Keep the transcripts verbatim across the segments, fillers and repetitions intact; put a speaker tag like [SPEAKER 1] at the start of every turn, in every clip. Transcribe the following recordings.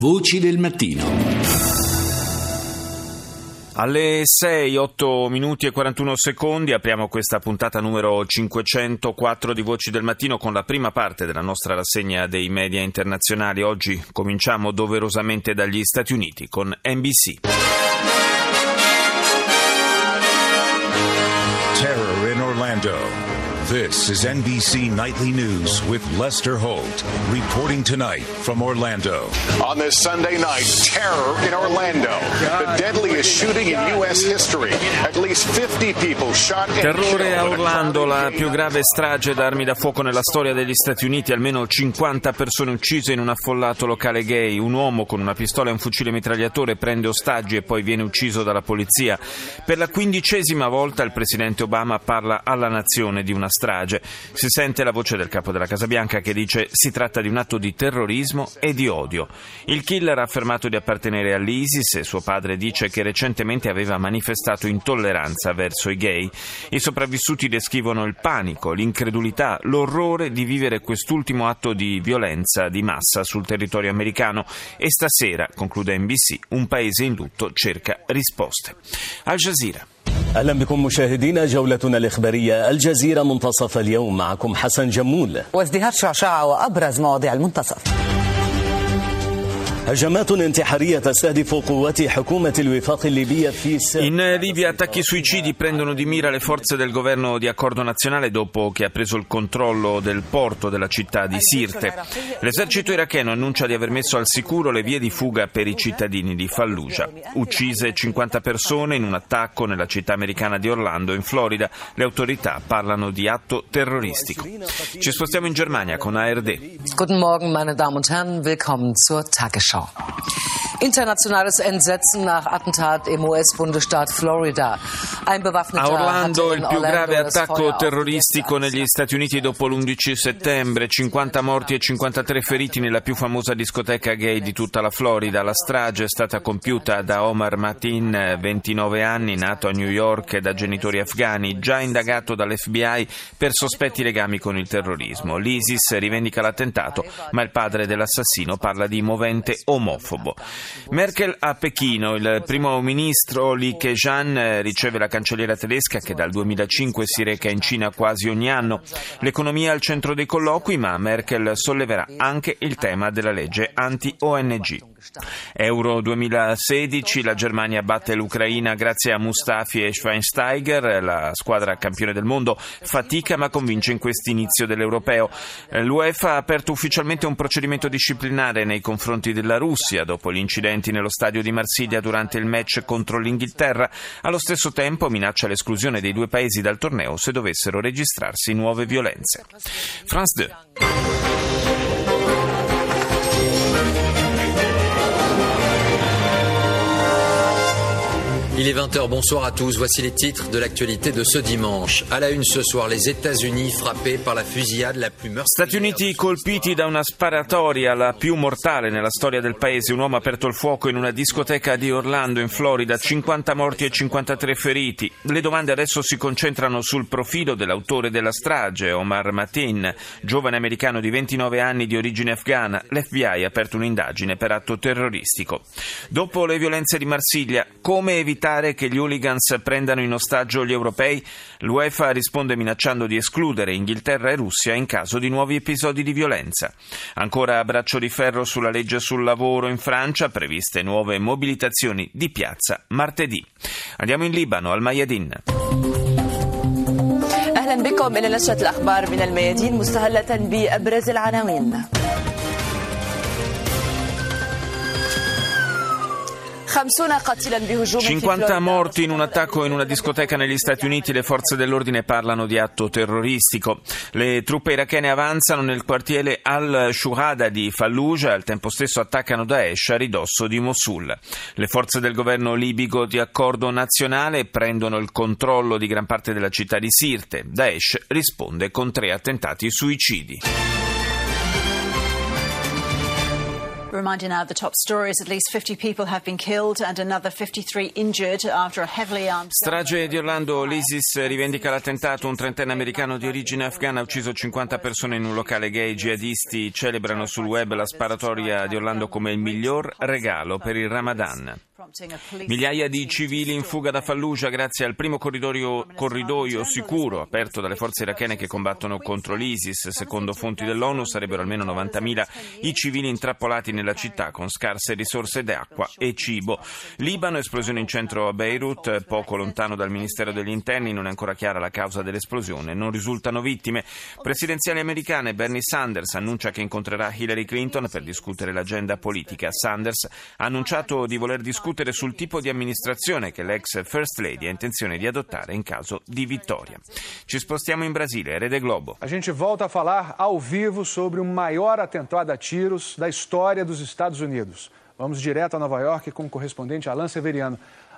[SPEAKER 1] Voci del mattino.
[SPEAKER 2] Alle sei, otto minuti e quarantuno secondi apriamo questa puntata numero cinquecentoquattro di Voci del Mattino con la prima parte della nostra rassegna dei media internazionali. Oggi cominciamo doverosamente dagli Stati Uniti con N B C.
[SPEAKER 3] Terror in Orlando. This is N B C Nightly News with Lester Holt, reporting tonight from Orlando.
[SPEAKER 4] On this Sunday night, terror in Orlando. The deadliest shooting in U S history. At least fifty people shot and
[SPEAKER 2] Terrore a Orlando, la più grave strage da armi da fuoco nella storia degli Stati Uniti. Almeno cinquanta persone uccise in un affollato locale gay. Un uomo con una pistola e un fucile mitragliatore prende ostaggi e poi viene ucciso dalla polizia. Per la quindicesima volta il presidente Obama parla alla nazione di una strage. Si sente la voce del capo della Casa Bianca che dice si tratta di un atto di terrorismo e di odio. Il killer ha affermato di appartenere all'ISIS e suo padre dice che recentemente aveva manifestato intolleranza verso i gay. I sopravvissuti descrivono il panico, l'incredulità, l'orrore di vivere quest'ultimo atto di violenza di massa sul territorio americano e stasera, conclude N B C, un paese in lutto cerca risposte. Al Jazeera.
[SPEAKER 5] أهلا بكم مشاهدينا جولتنا الإخبارية الجزيرة منتصف اليوم معكم حسن جمول
[SPEAKER 6] وازدهار شعشعة وأبرز مواضيع المنتصف.
[SPEAKER 5] هجمات انتحارية تستهدف قوات حكومة الوفاق الليبية في
[SPEAKER 2] In Libia attacchi suicidi prendono di mira le forze del governo di accordo nazionale dopo che ha preso il controllo del porto della città di Sirte. L'esercito iracheno annuncia di aver messo al sicuro le vie di fuga per i cittadini di Fallujah. Uccise cinquanta persone in un attacco nella città americana di Orlando, in Florida. Le autorità parlano di atto terroristico. Ci spostiamo in Germania con A R D.
[SPEAKER 6] Guten Morgen, meine Damen und Herren, willkommen zur Tagesschau. Internationales Entsetzen nach Attentat im U S-Bundesstaat Florida. Ein bewaffneter
[SPEAKER 2] A Orlando il più grave
[SPEAKER 6] das
[SPEAKER 2] attacco
[SPEAKER 6] Feuer
[SPEAKER 2] terroristico negli Stati Uniti dopo l'undici settembre, cinquanta morti e cinquantatré feriti nella più famosa discoteca gay di tutta la Florida. La strage è stata compiuta da Omar Mateen, ventinove anni, nato a New York da genitori afghani, già indagato dall'F B I per sospetti legami con il terrorismo. L'ISIS rivendica l'attentato, ma il padre dell'assassino parla di movente omofobo. Merkel a Pechino. Il primo ministro Li Keqiang riceve la cancelliera tedesca che dal duemilacinque si reca in Cina quasi ogni anno. L'economia è al centro dei colloqui, ma Merkel solleverà anche il tema della legge anti-O N G. Euro duemilasedici, la Germania batte l'Ucraina grazie a Mustafi e Schweinsteiger. La squadra campione del mondo fatica ma convince in quest'inizio dell'Europeo. L'UEFA ha aperto ufficialmente un procedimento disciplinare nei confronti della Russia dopo gli incidenti nello stadio di Marsiglia durante il match contro l'Inghilterra. Allo stesso tempo minaccia l'esclusione dei due paesi dal torneo se dovessero registrarsi nuove violenze. France due.
[SPEAKER 7] Il est vingt heures, bonsoir à tous. Voici les titres de l'actualité de ce dimanche. À la une ce soir, les États-Unis frappés par la fusillade la plus meurtrière.
[SPEAKER 2] Stati Uniti colpiti da una sparatoria, la più mortale nella storia del paese. Un uomo ha aperto il fuoco in una discoteca di Orlando, in Florida. cinquanta morti e cinquantatré feriti. Le domande adesso si concentrano sul profilo dell'autore della strage, Omar Mateen, giovane americano di ventinove anni di origine afghana. L'F B I ha aperto un'indagine per atto terroristico. Dopo le violenze di Marsiglia, come evitare che gli hooligans prendano in ostaggio gli europei? L'UEFA risponde minacciando di escludere Inghilterra e Russia in caso di nuovi episodi di violenza. Ancora a braccio di ferro sulla legge sul lavoro in Francia, previste nuove mobilitazioni di piazza martedì. Andiamo in Libano, al Mayadin.
[SPEAKER 8] أهلا بكم إلى نشرة الأخبار من الميادين مستهلة بأبرز العناوين.
[SPEAKER 2] cinquanta morti in un attacco in una discoteca negli Stati Uniti. Le forze dell'ordine parlano di atto terroristico. Le truppe irachene avanzano nel quartiere al-Shuhada di Fallujah, al tempo stesso attaccano Daesh a ridosso di Mosul. Le forze del governo libico di accordo nazionale prendono il controllo di gran parte della città di Sirte. Daesh risponde con tre attentati suicidi.
[SPEAKER 1] Reminder now of the top stories. At least fifty people have been killed and another fifty-three injured after a heavily armed...
[SPEAKER 2] Strage di Orlando, l'ISIS rivendica l'attentato. Un trentenne americano di origine afghana ha ucciso cinquanta persone in un locale gay. I jihadisti celebrano sul web la sparatoria di Orlando come il miglior regalo per il Ramadan. Migliaia di civili in fuga da Fallujah grazie al primo corridoio, corridoio sicuro aperto dalle forze irachene che combattono contro l'ISIS. Secondo fonti dell'ONU sarebbero almeno novantamila i civili intrappolati nella città con scarse risorse d'acqua e cibo. Libano, esplosione in centro a Beirut, poco lontano dal Ministero degli Interni. Non è ancora chiara la causa dell'esplosione, non risultano vittime. Presidenziali americane, Bernie Sanders annuncia che incontrerà Hillary Clinton per discutere l'agenda politica. Sanders ha annunciato di voler discutere sul tipo di amministrazione che l'ex First Lady ha intenzione di adottare in caso di vittoria. Ci spostiamo in Brasile, Rede Globo.
[SPEAKER 9] A gente volta a falar ao vivo sobre o maior atentado a tiros da história dos Estados Unidos. Vamos direto a Nova York com o correspondente Alan Severiano.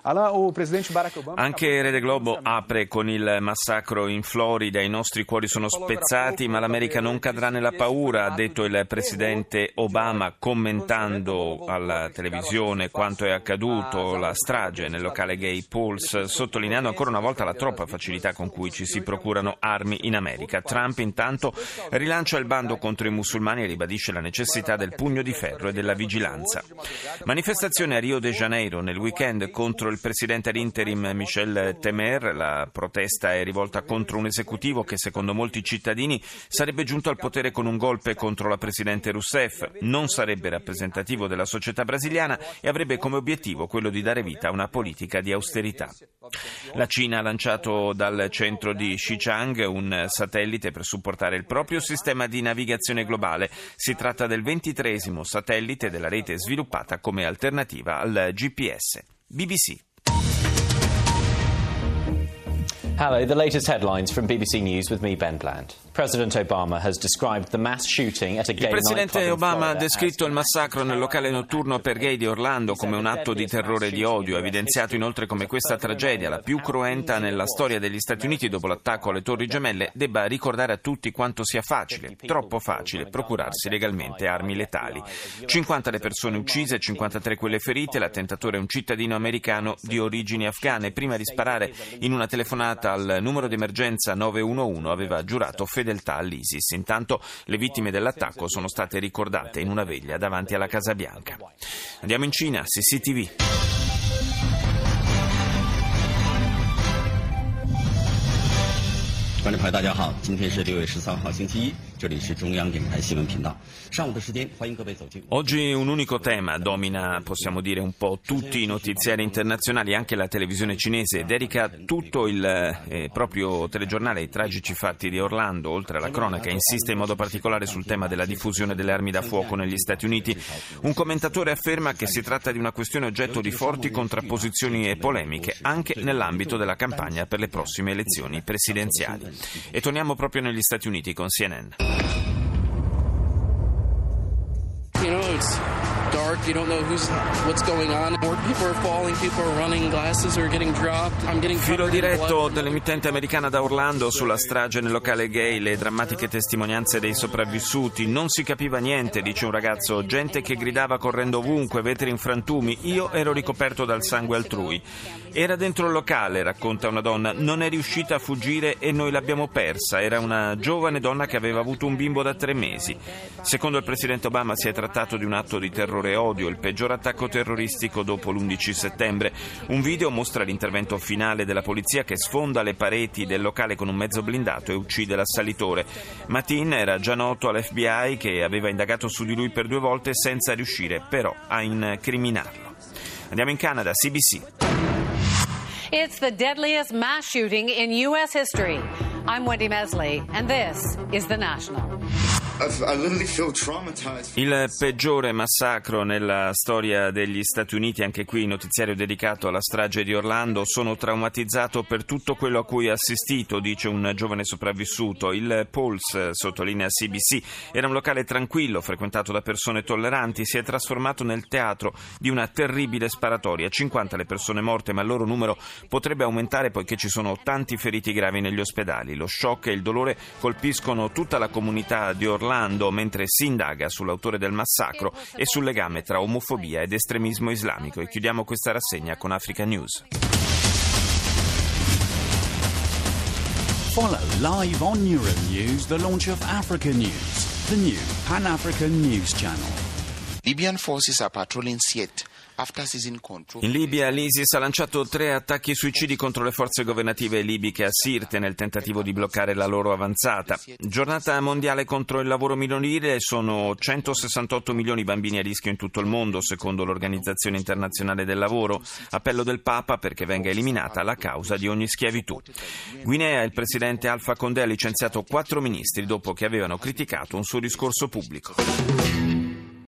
[SPEAKER 2] Anche Rede Globo apre con il massacro in Florida. I nostri cuori sono spezzati, ma l'America non cadrà nella paura, ha detto il presidente Obama commentando alla televisione quanto è accaduto, la strage nel locale gay Pulse, sottolineando ancora una volta la troppa facilità con cui ci si procurano armi in America. Trump intanto rilancia il bando contro i musulmani e ribadisce la necessità del pugno di ferro e della vigilanza. Manifestazione a Rio de Janeiro nel weekend contro il presidente ad interim Michel Temer. La protesta è rivolta contro un esecutivo che secondo molti cittadini sarebbe giunto al potere con un golpe contro la presidente Rousseff. Non sarebbe rappresentativo della società brasiliana e avrebbe come obiettivo quello di dare vita a una politica di austerità. La Cina ha lanciato dal centro di Xichang un satellite per supportare il proprio sistema di navigazione globale. Si tratta del ventitreesimo satellite della rete sviluppata come alternativa al G P S. B B C.
[SPEAKER 10] Hello, the latest headlines from B B C News with me, Ben Bland. President Obama has described the mass shooting at a gay
[SPEAKER 2] Il presidente
[SPEAKER 10] nightclub in
[SPEAKER 2] Obama ha
[SPEAKER 10] Florida
[SPEAKER 2] descritto il massacro nel locale notturno per gay di Orlando come un atto di terrore e di odio. Ha evidenziato inoltre come questa tragedia, la più cruenta nella storia degli Stati Uniti dopo l'attacco alle Torri Gemelle, debba ricordare a tutti quanto sia facile, troppo facile, procurarsi legalmente armi letali. cinquanta le persone uccise, cinquantatré quelle ferite. L'attentatore è un cittadino americano di origini afghane. Prima di sparare in una telefonata al numero di emergenza nove uno uno aveva giurato fedeltà all'ISIS. Intanto le vittime dell'attacco sono state ricordate in una veglia davanti alla Casa Bianca. Andiamo in Cina, C C T V.
[SPEAKER 11] 观众朋友大家好，今天是六月十三号星期一，这里是中央电台新闻频道。上午的时间，欢迎各位走进。
[SPEAKER 2] Oggi un unico tema domina, possiamo dire, un po' tutti i notiziari internazionali. Anche la televisione cinese dedica tutto il eh, proprio telegiornale ai tragici fatti di Orlando. Oltre alla cronaca, insiste in modo particolare sul tema della diffusione delle armi da fuoco negli Stati Uniti. Un commentatore afferma che si tratta di una questione oggetto di forti contrapposizioni e polemiche, anche nell'ambito della campagna per le prossime elezioni presidenziali. E torniamo proprio negli Stati Uniti con C N N.
[SPEAKER 12] You know, it's dark, you don't know who's, what's going on. More people are falling, people are running, glasses are getting dropped. I'm getting
[SPEAKER 2] Filo diretto dell'emittente americana da Orlando sulla strage nel locale gay, le drammatiche testimonianze dei sopravvissuti. Non si capiva niente, dice un ragazzo, gente che gridava correndo ovunque, vetri in frantumi. Io ero ricoperto dal sangue altrui. Era dentro il locale, racconta una donna, non è riuscita a fuggire e noi l'abbiamo persa. Era una giovane donna che aveva avuto un bimbo da tre mesi. Secondo il presidente Obama si è trattato di un atto di terrore e odio, il peggior attacco terroristico dopo l'undici settembre. Un video mostra l'intervento finale della polizia che sfonda le pareti del locale con un mezzo blindato e uccide l'assalitore. Mateen era già noto all'F B I che aveva indagato su di lui per due volte senza riuscire però a incriminarlo. Andiamo in Canada, C B C.
[SPEAKER 13] It's the deadliest mass shooting in U S history. I'm Wendy Mesley, and this is The National.
[SPEAKER 2] Il peggiore massacro nella storia degli Stati Uniti, anche qui notiziario dedicato alla strage di Orlando. Sono traumatizzato per tutto quello a cui ho assistito, dice un giovane sopravvissuto. Il Pulse, sottolinea C B C, era un locale tranquillo, frequentato da persone tolleranti, si è trasformato nel teatro di una terribile sparatoria. cinquanta le persone morte, ma il loro numero potrebbe aumentare poiché ci sono tanti feriti gravi negli ospedali. Lo shock e il dolore colpiscono tutta la comunità di Orlando. scalando mentre si indaga sull'autore del massacro e sul legame tra omofobia ed estremismo islamico. E chiudiamo questa rassegna con Africa News.
[SPEAKER 14] Follow live on Euronews the launch of Africa News, the new Pan-African news channel.
[SPEAKER 15] Libyan forces are patrolling Sirte.
[SPEAKER 2] In Libia l'ISIS ha lanciato tre attacchi suicidi contro le forze governative libiche a Sirte nel tentativo di bloccare la loro avanzata. Giornata mondiale contro il lavoro minorile, sono centosessantotto milioni i bambini a rischio in tutto il mondo, secondo l'Organizzazione Internazionale del Lavoro. Appello del Papa perché venga eliminata la causa di ogni schiavitù. Guinea, il presidente Alpha Condé ha licenziato quattro ministri dopo che avevano criticato un suo discorso pubblico.